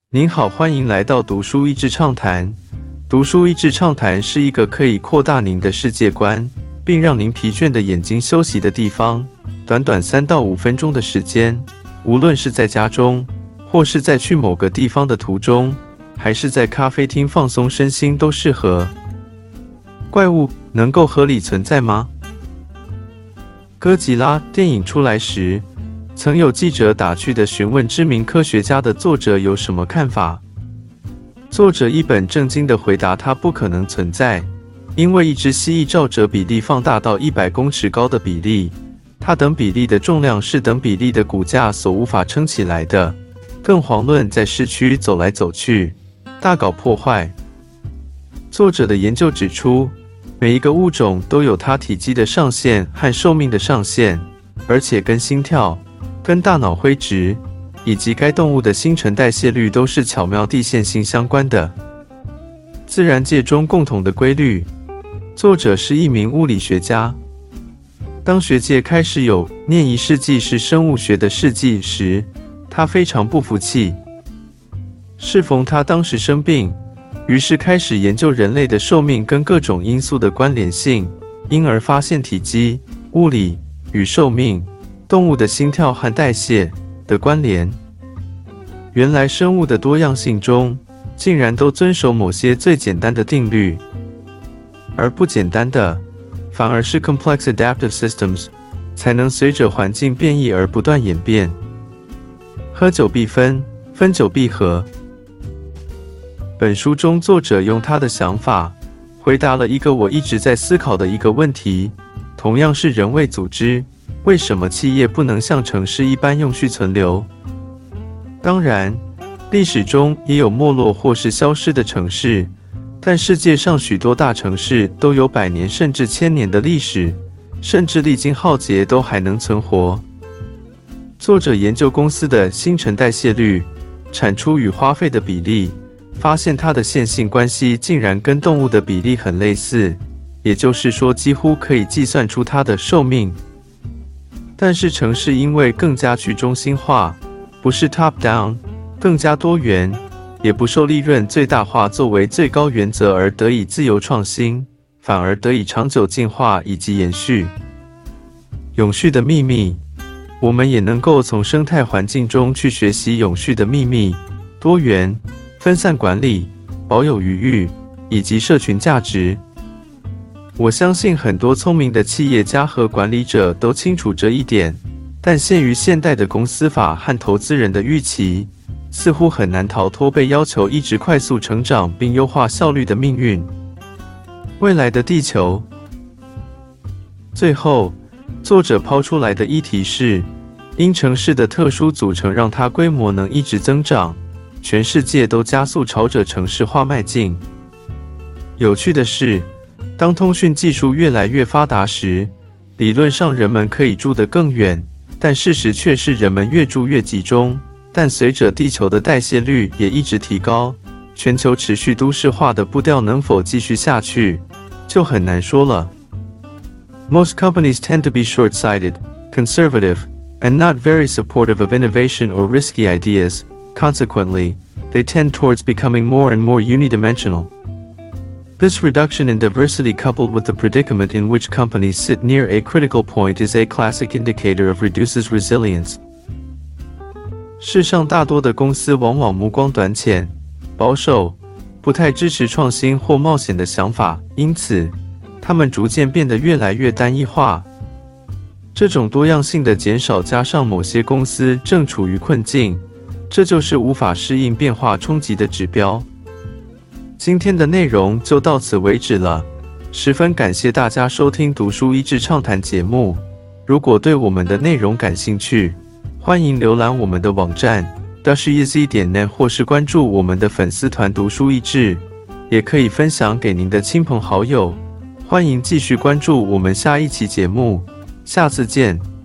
您好，欢迎来到读书益智畅谈。读书益智畅谈是一个可以扩大您的世界观，并让您疲倦的眼睛休息的地方。短短3到5分钟的时间，无论是在家中，或是在去某个地方的途中，还是在咖啡厅放松身心都适合。怪物能够合理存在吗？哥吉拉电影出来时，曾有记者打趣地询问知名科学家的作者有什么看法。作者一本正经地回答，它不可能存在，因为一只蜥蜴照着比例放大到100公尺高的比例，它等比例的重量是等比例的骨架所无法撑起来的，更遑论在市区走来走去，大搞破坏。作者的研究指出，每一个物种都有它体积的上限和寿命的上限，而且跟心跳、跟大脑灰质以及该动物的新陈代谢率都是巧妙地线性相关的。自然界中共同的规律。作者是一名物理学家。当学界开始有念1世纪是生物学的世纪时，他非常不服气。适逢他当时生病，于是开始研究人类的寿命跟各种因素的关联性，因而发现体积、物理与寿命、动物的心跳和代谢的关联。原来生物的多样性中，竟然都遵守某些最简单的定律，而不简单的，反而是 complex adaptive systems， 才能随着环境变异而不断演变。合久必分，分久必合。本书中，作者用他的想法回答了一个我一直在思考的一个问题，同样是人为组织，为什么企业不能像城市一般永续存留？当然，历史中也有没落或是消失的城市，但世界上许多大城市都有100年甚至1000年的历史，甚至历经浩劫都还能存活。作者研究公司的新陈代谢率、产出与花费的比例，发现它的线性关系竟然跟动物的比例很类似，也就是说几乎可以计算出它的寿命。但是城市因为更加去中心化，不是 top down， 更加多元，也不受利润最大化作为最高原则而得以自由创新，反而得以长久进化以及延续。永续的秘密，我们也能够从生态环境中去学习永续的秘密：多元、分散管理、保有余裕以及社群价值。我相信很多聪明的企业家和管理者都清楚这一点，但限于现代的公司法和投资人的预期，似乎很难逃脱被要求一直快速成长并优化效率的命运。未来的地球。最后，作者抛出来的议题是，因城市的特殊组成让它规模能一直增长，全世界都加速朝着城市化迈进。有趣的是，当通讯技术越来越发达时，理论上人们可以住得更远，但事实却是人们越住越集中。但随着地球的代谢率也一直提高，全球持续都市化的步调能否继续下去，就很难说了。Most companies tend to be short-sighted, conservative, and not very supportive of innovation or risky ideas. Consequently, they tend towards becoming more and more unidimensional. This reduction in diversity coupled with the predicament in which companies sit near a critical point is a classic indicator of reduces resilience. 世上大多的公司往往目光短浅、保守，不太支持创新或冒险的想法，因此，它们逐渐变得越来越单一化。这种多样性的减少加上某些公司正处于困境，这就是无法适应变化冲击的指标。今天的内容就到此为止了，十分感谢大家收听读书益智畅谈节目。如果对我们的内容感兴趣，欢迎浏览我们的网站 dashiz.net 或是关注我们的粉丝团读书益智，也可以分享给您的亲朋好友。欢迎继续关注我们下一期节目，下次见。